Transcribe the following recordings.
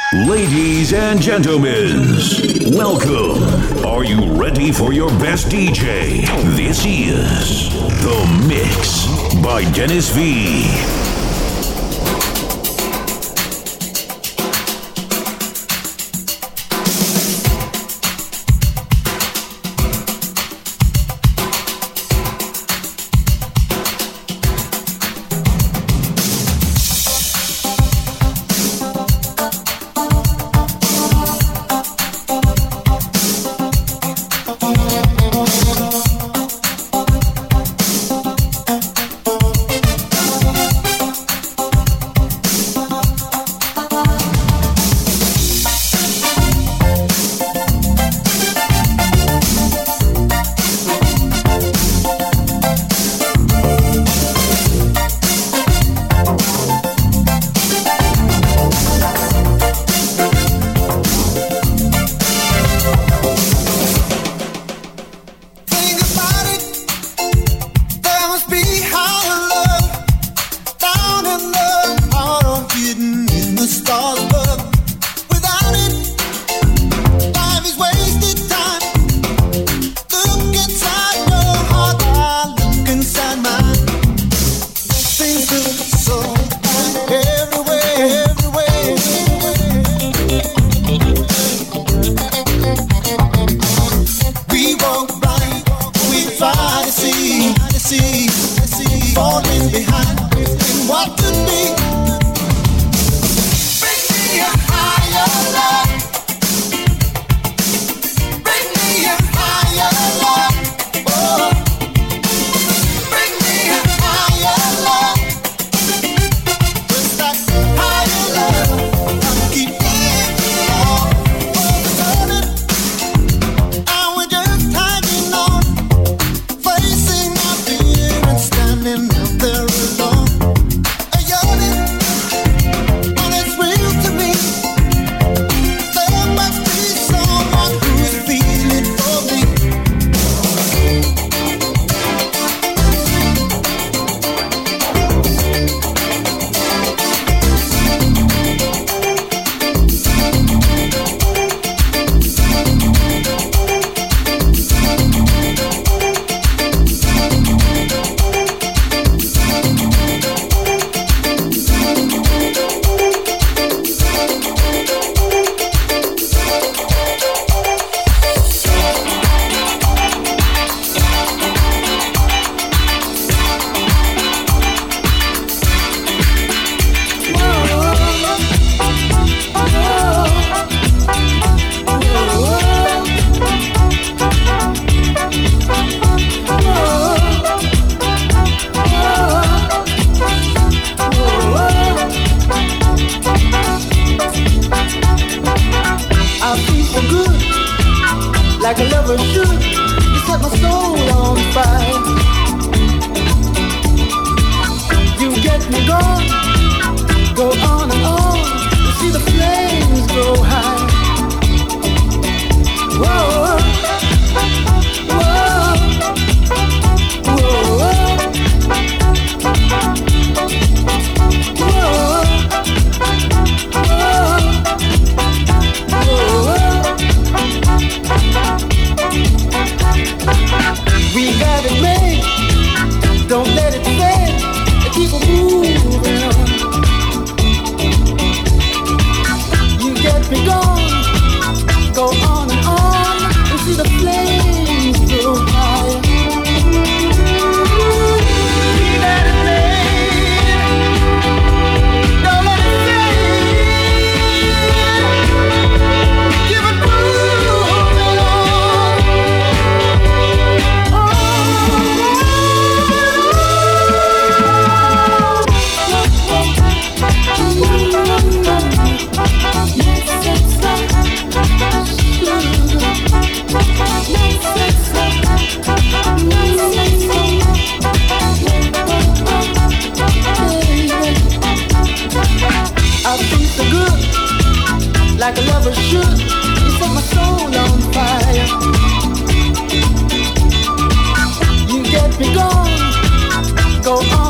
Ladies and gentlemen, welcome. Are you ready for your best DJ? This is The Mix by Dennis V.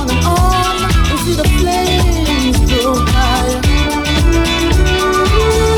and see the flames grow higher.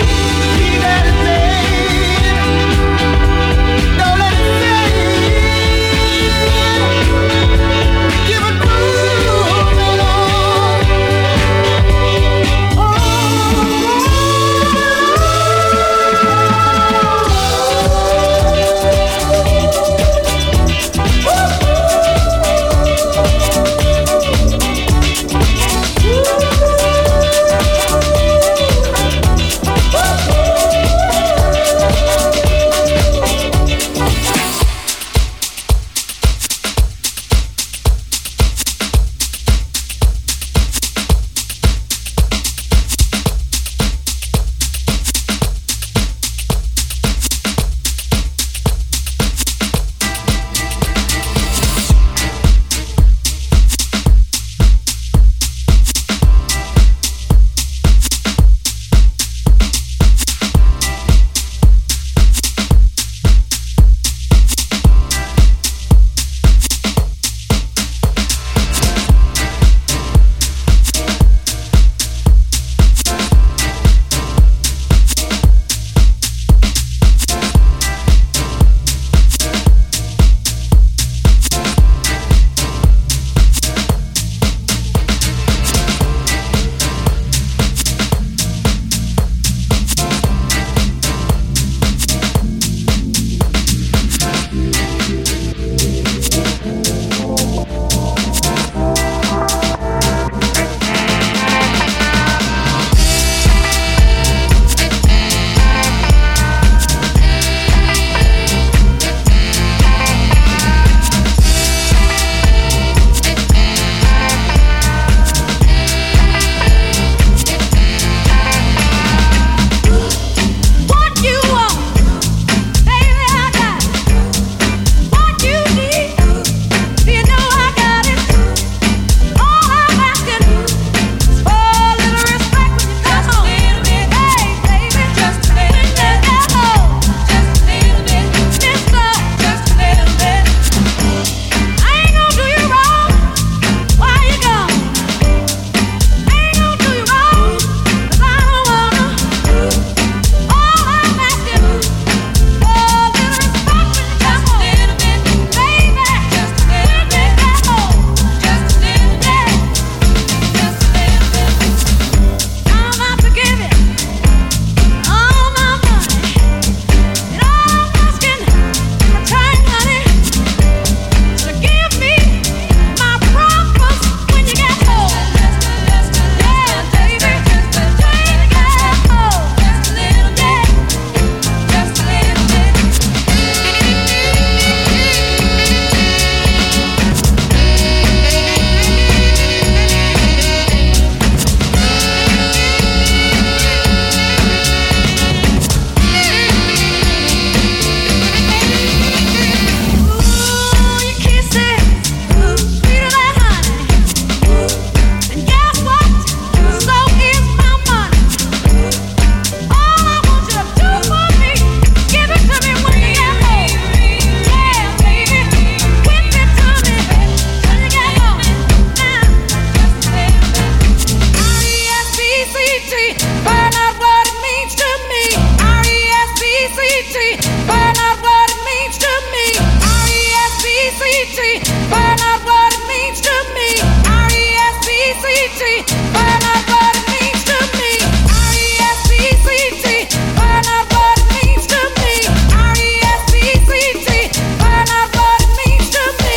find out what it means to me. R-E-S-P-C-T, find out what it means to me. R-E-S-P-C-T, find out what it means to me. R-E-S-P-C-T, find out what it means to me. R-E-S-P-C-T, find out what it means to me. R-E-S-P-C-T, find out what it means to me.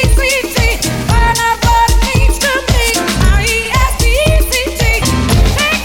R-E-S-P-C-T, find out what it means to me. R-E-S-P-C-T, find out what it means to me.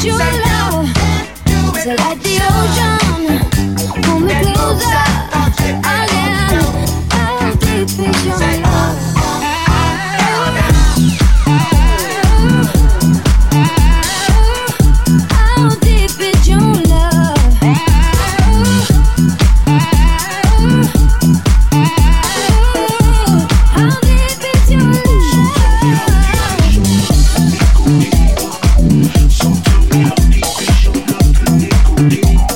your love. So like the ocean, pull me closer again. How deep is your love? How deep is your love? How deep is your love? Something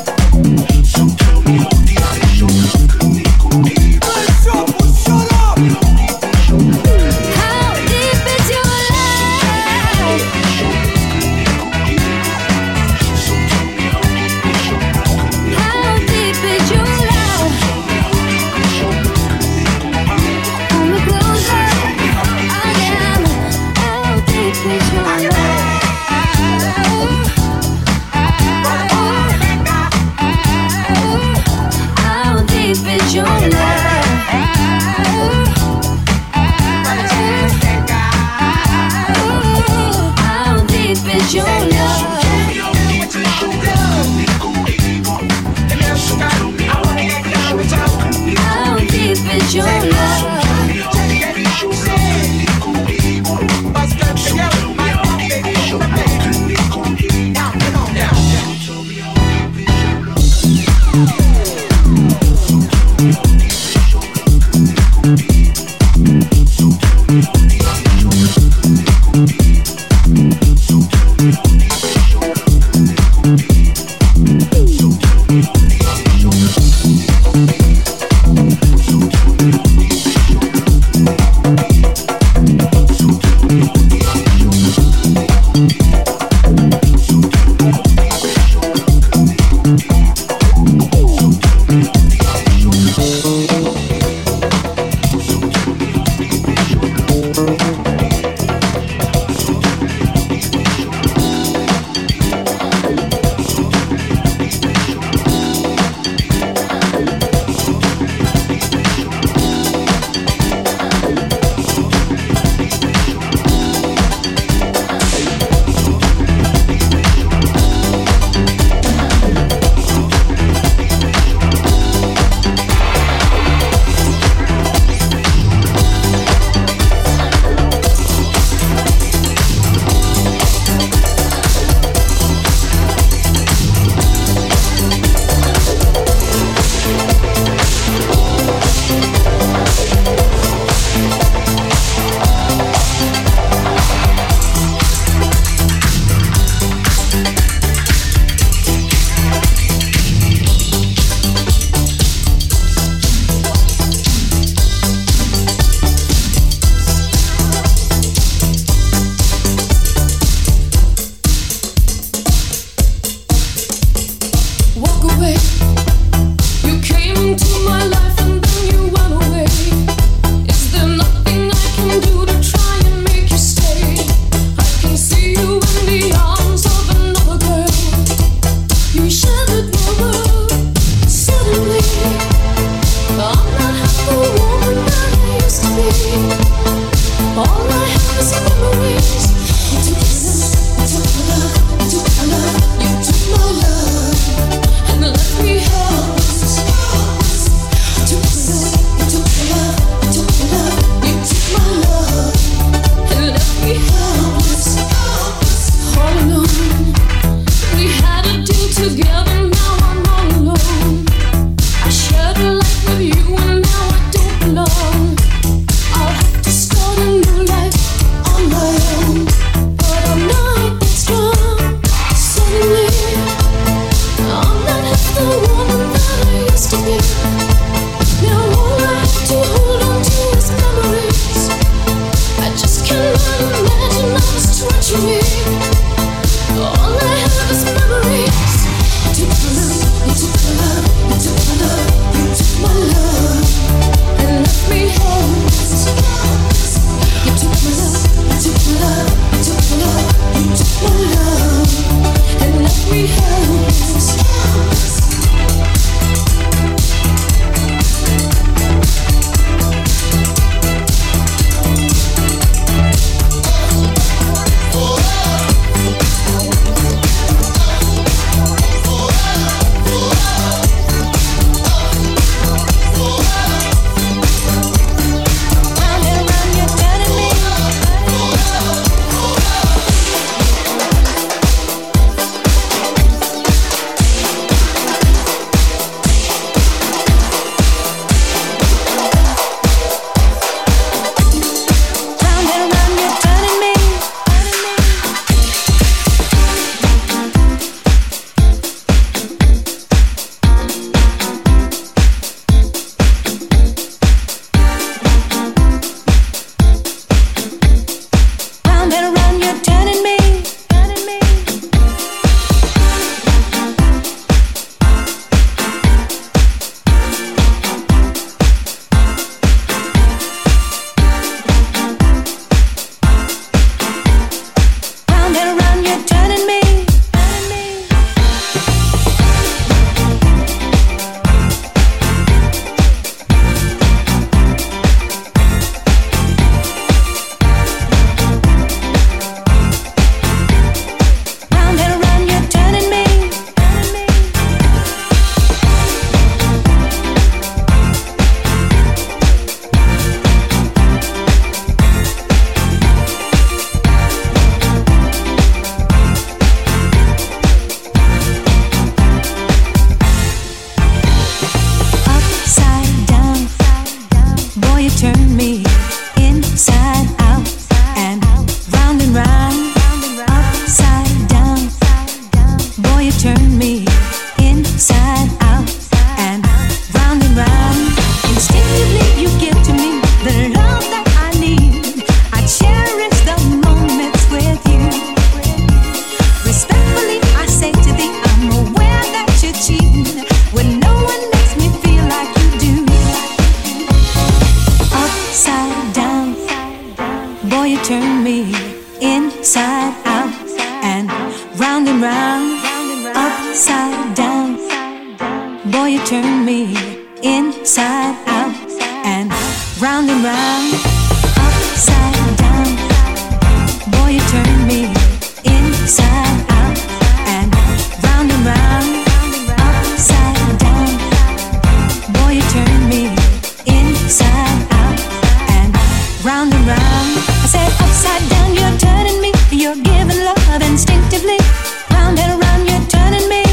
upside down. Boy, you turn me inside out and round and round. Upside down. Boy, you turn me inside out and round and round. Upside down. Boy, you turn me inside out and round and round. I said upside down, you're turning me. You're giving love instinctively. Round and around, you're turning me.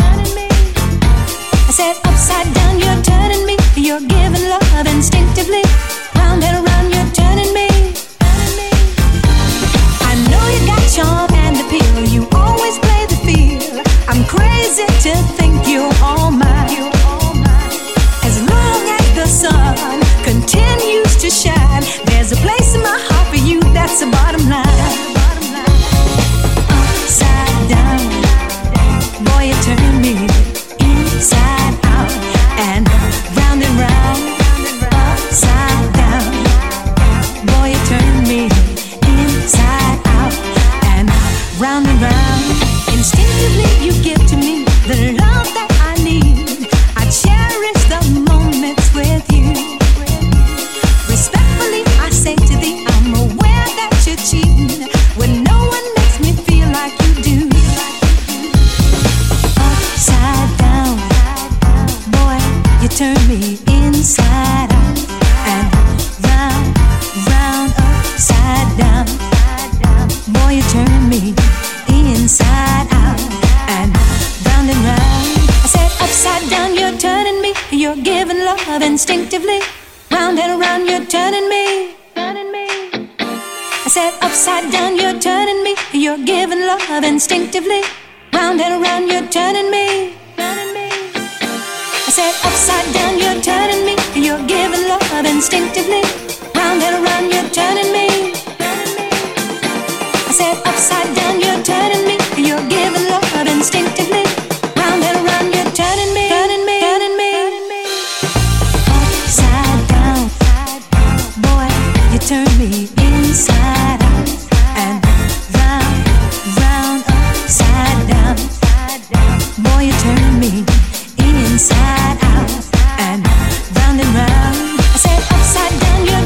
I said upside down, you're turning me. You're giving love instinctively. Round and around, you're turning me. I know you got charm and appeal. You always play the field. I'm crazy to think you're all mine. As long as the sun continues to shine, there's a place in my heart for you. That's the bottom line. Upside down, boy, you turn me inside out and round and round. Upside down, boy, you turn me inside out and round and round. Instinctively you give to me the love that I need. I cherish the moments with you. Respectfully I say to thee, I'm aware that you're cheating when no one makes me feel like you do. Upside down, boy, you turn me inside out and round, round, upside down. Boy, you turn me inside out and round. I said upside down, you're turning me. You're giving love instinctively. Round and around, you're turning me. I said upside down, you're turning me. You're giving love instinctively. Round and around, you're turning me. I said upside down, you're turning me. You're giving love instinctively. Round and around, you're turning me. I said upside down, you're turning me. You're giving love instinctively. Round and around, you're turning me. Upside down, boy, you turn me inside out and round, round, upside down. Boy, you turn me inside out and round. I said upside down, you're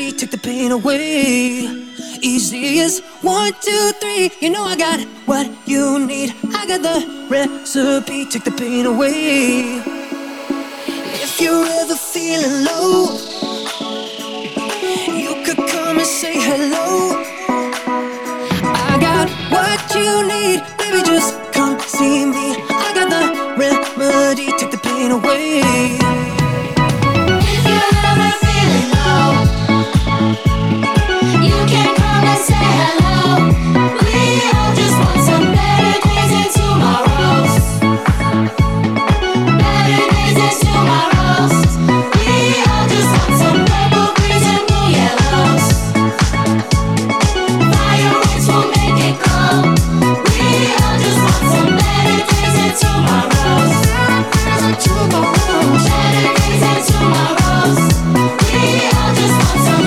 remedy, take the pain away. Easy as 1, 2, 3. You know I got what you need. I got the recipe, take the pain away. If you're ever feeling low, you could come and say hello. I got what you need, baby, just come see me. I got the remedy, take the pain away. If you're ever feeling low, you can come and say hello. We all just want some better days and tomorrows. Better days and tomorrows. We all just want some purple, greens and blue yellows. Fireworks will make it glow. We all just want some better days and tomorrows. Better days and tomorrows. We all just want some.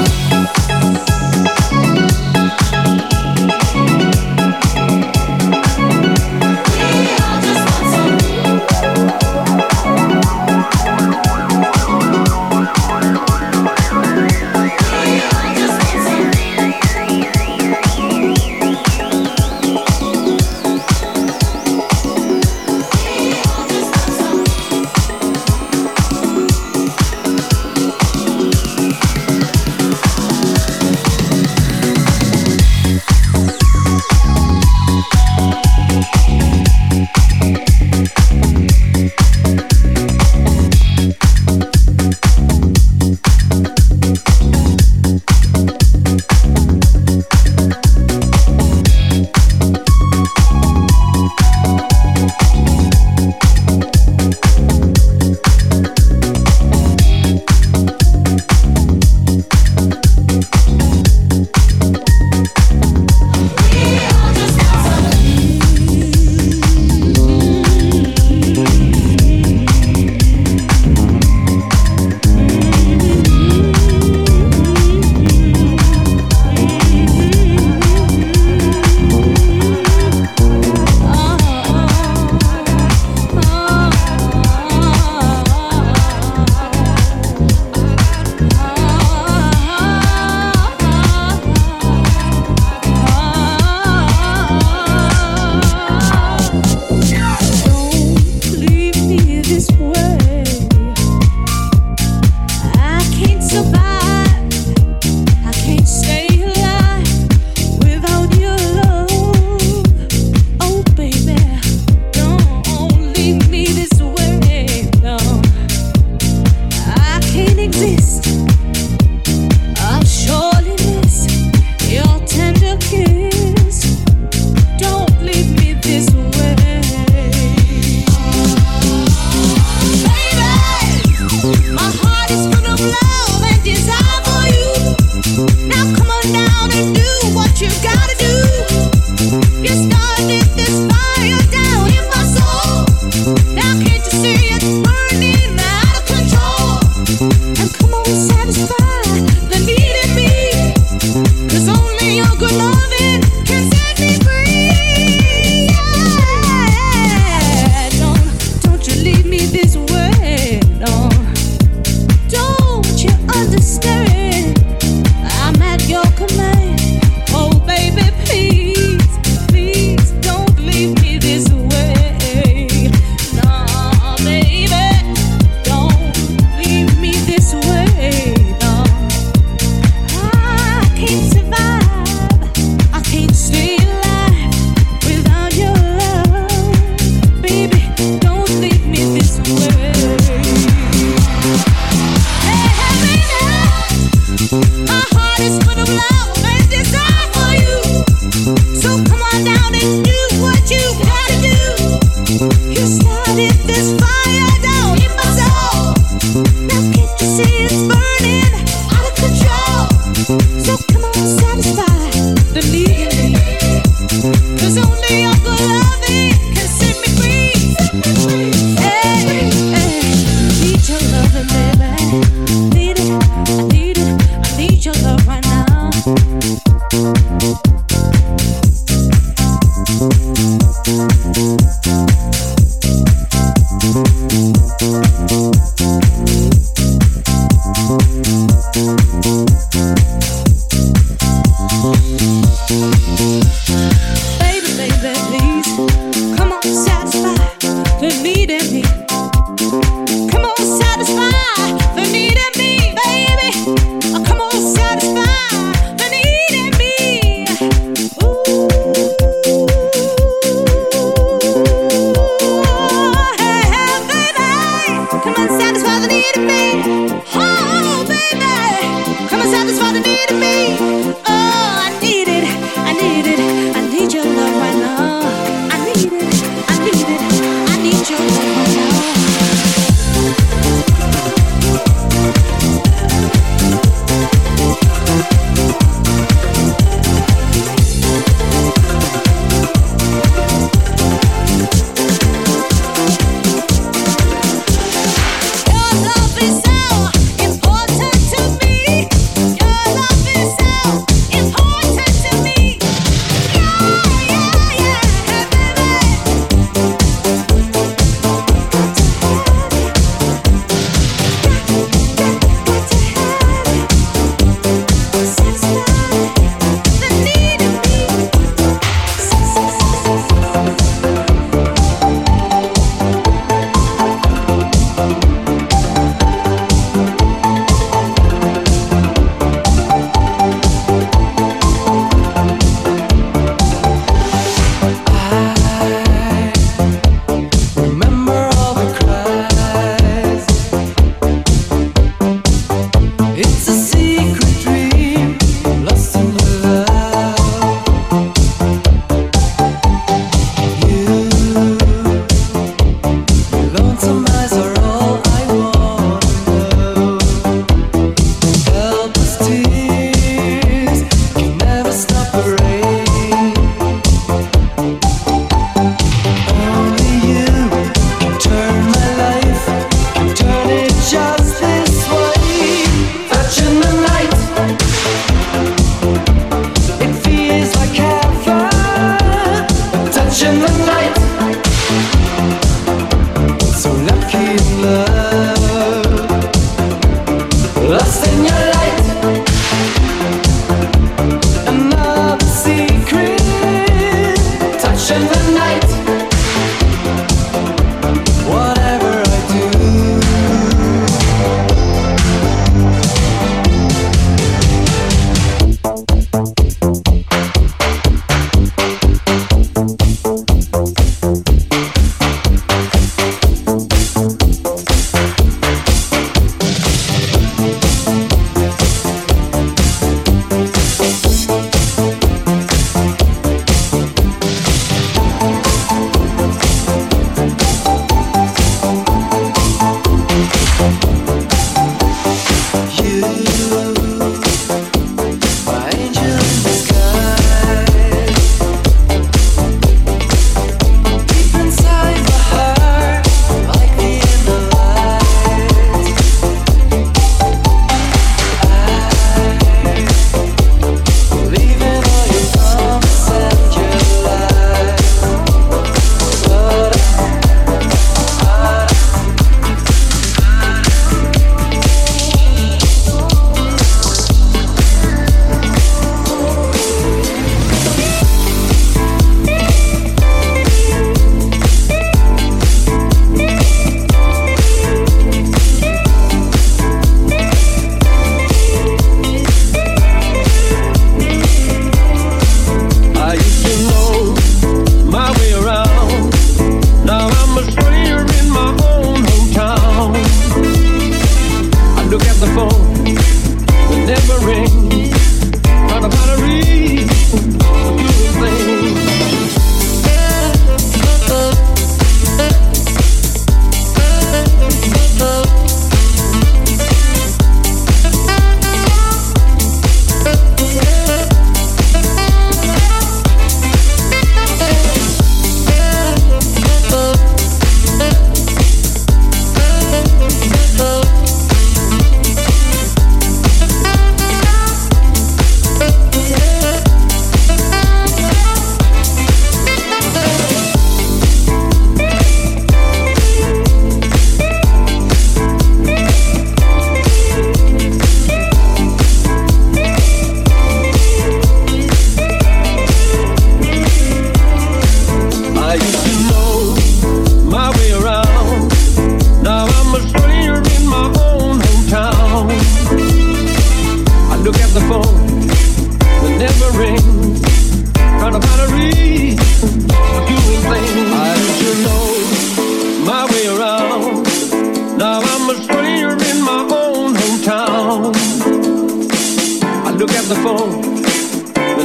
Lost in your light, another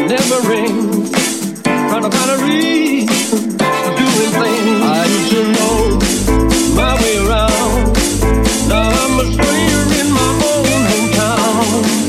never rings. Trying to find a reason for doing things. I used to know my way around. Now I'm a stranger in my own hometown.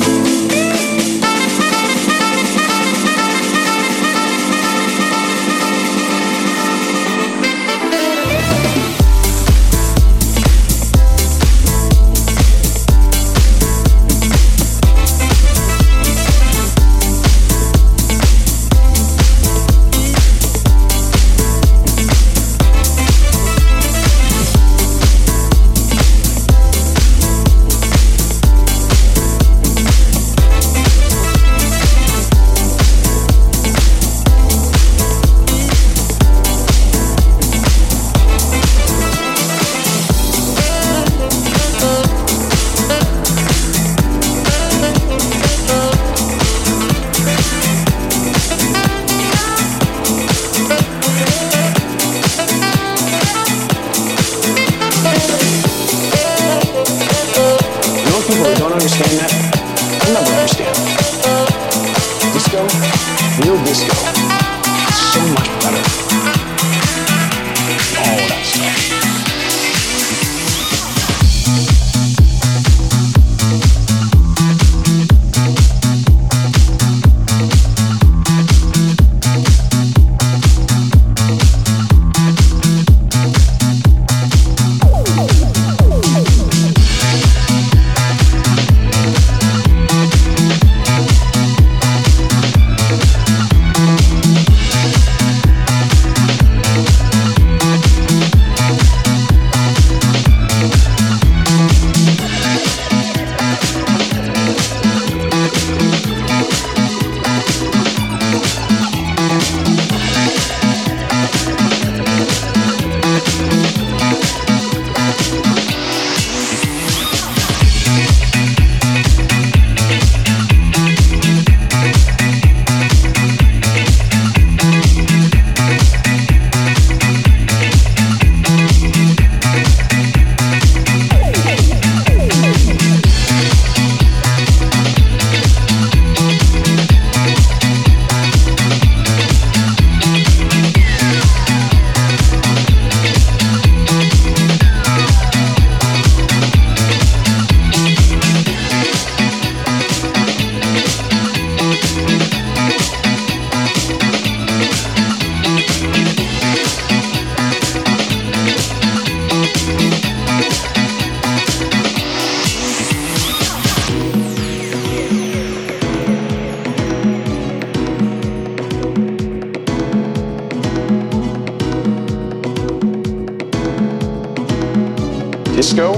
Disco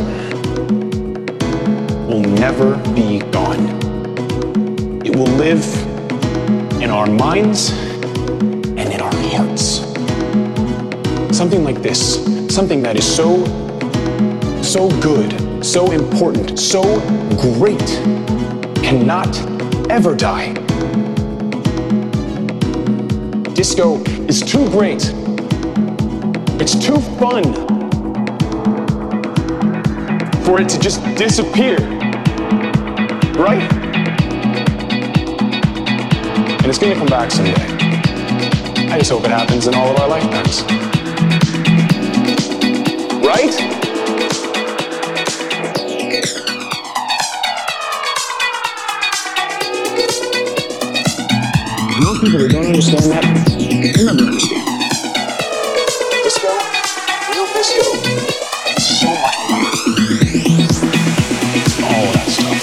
will never be gone. It will live in our minds and in our hearts. Something like this, something that is so good, so important, so great, cannot ever die. Disco is too great. It's too fun for it to just disappear, right? And it's gonna come back someday. I just hope it happens in all of our lifetimes. Right? Most people who don't understand that, they'll never understand. Disco, real disco, it's so much fun. All that stuff.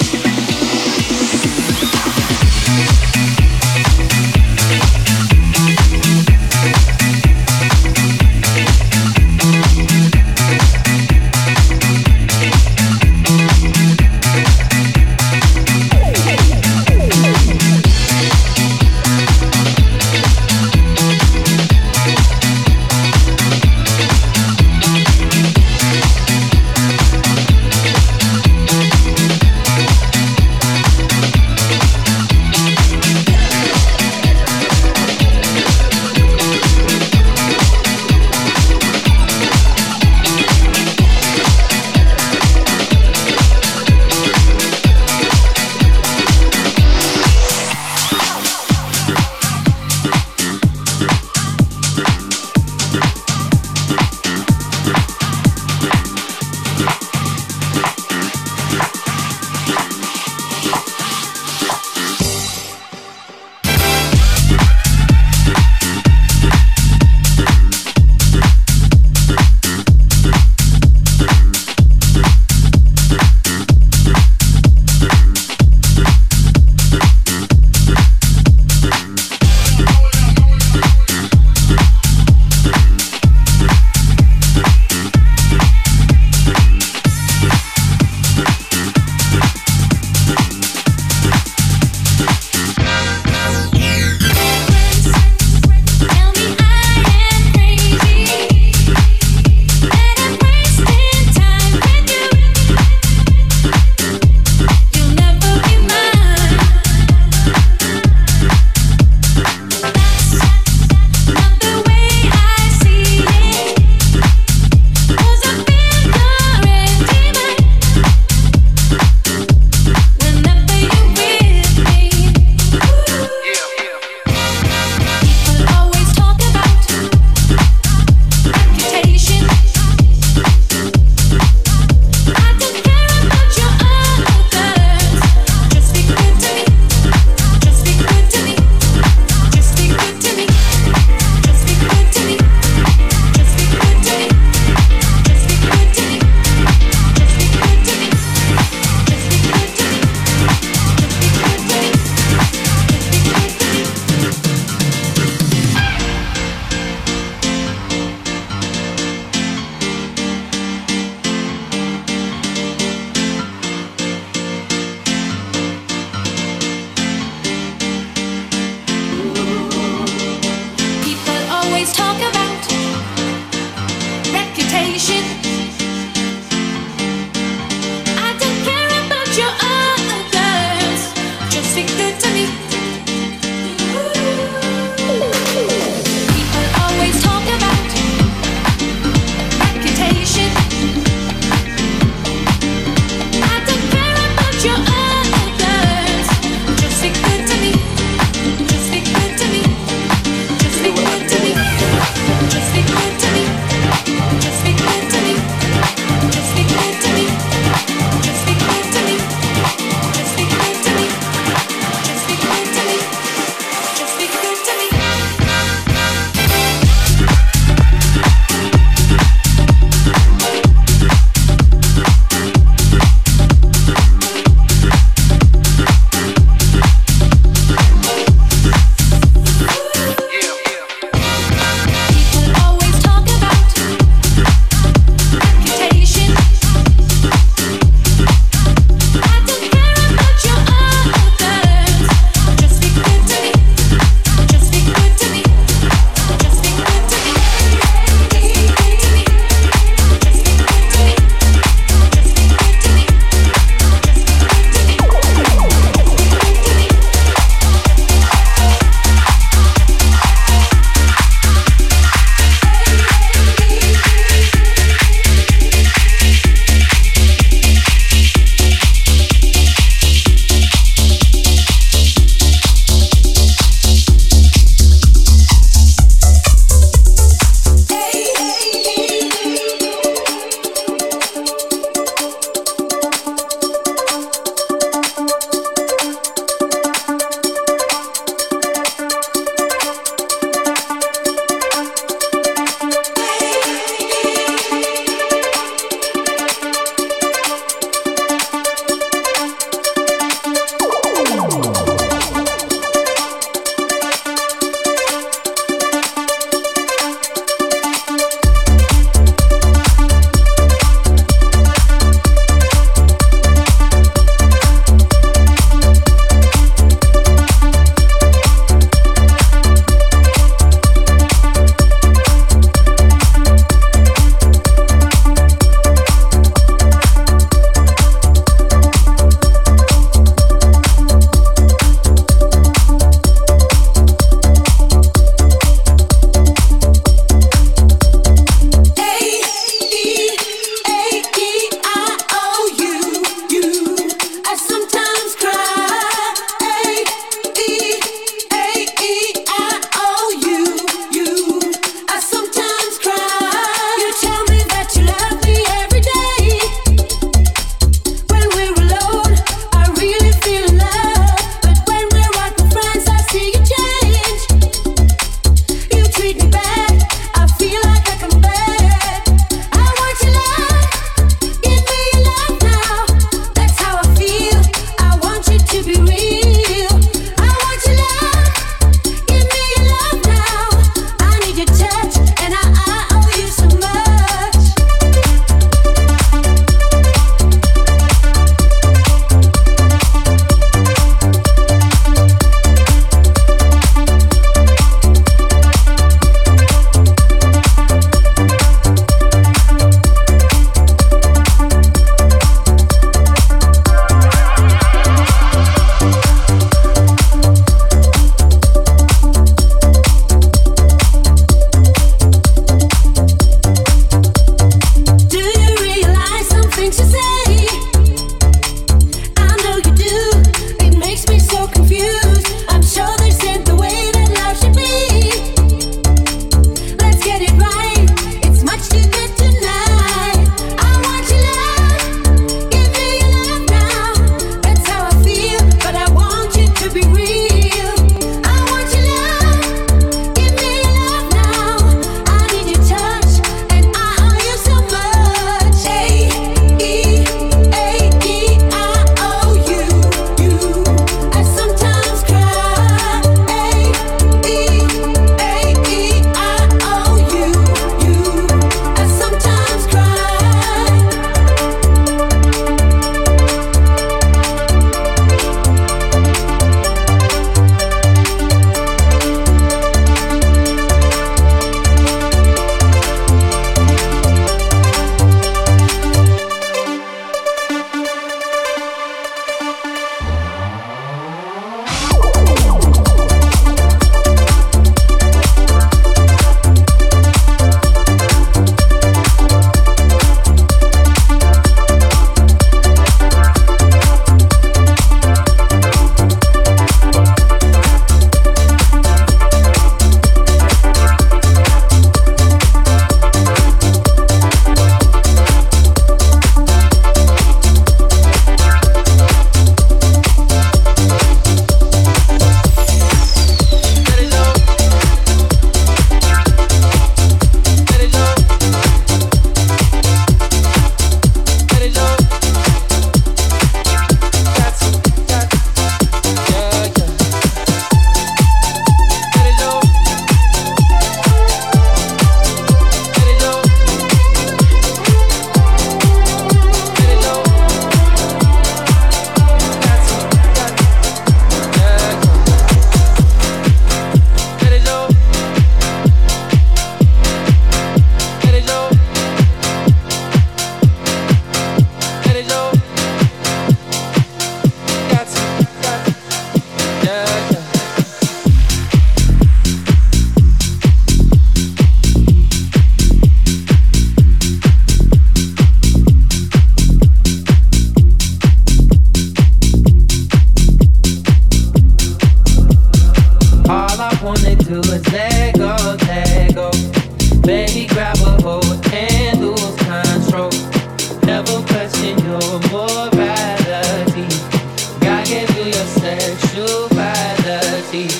is let go, let go. Baby, grab a hold and lose control. Never question your morality. God gave you your sexuality.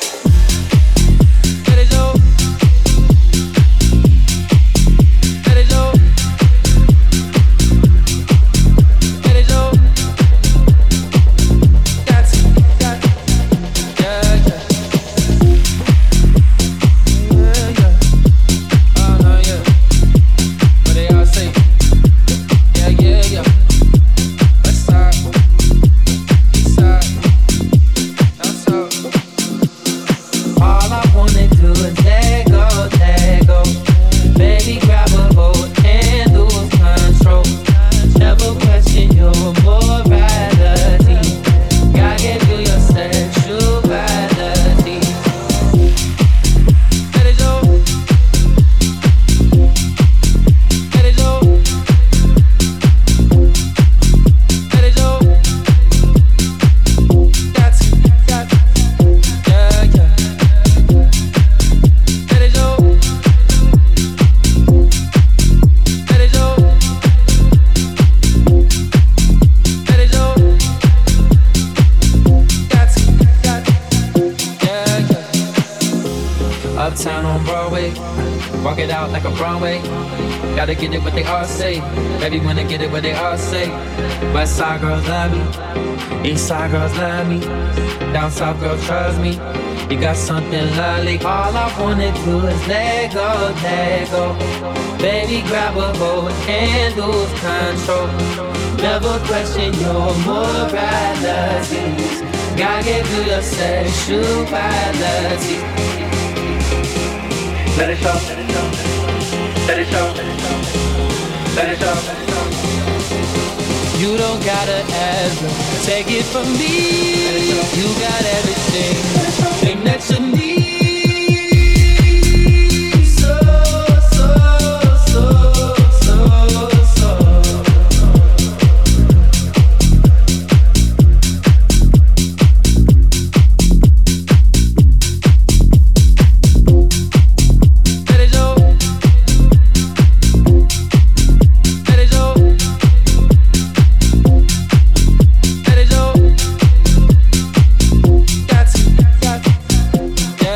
Let it go. Let it go. Let it go. That's got. Yeah, yeah. Yeah, yeah. Oh no, yeah. What they all say? Yeah, yeah, yeah. West side, east side, down south. All I wanna do is let go, let go. Baby, grab a hold and lose control. Never question your morality. God gave you your sexuality. Let it go. Let it go. Let it go. That's got. Yeah, yeah. Let it go. Let it go. Let it go. That's got. Yeah, yeah. Uptown on Broadway, walk it out like a Broadway. Gotta get it what they all say. Baby, wanna get it what they all say. West side girls love me, east side girls love me, down south girls trust me. You got something lovely. All I wanna do is let go, let go. Baby, grab a hold and lose control. Never question your morality. God gave you your sexuality. Let it show. Let it show. Let it show. You don't gotta ever take it from me. You got everything, thing that you need. So, so, so, so, so. Let it go. Let it go. Let it go. That's got. Yeah,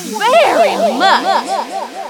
very much.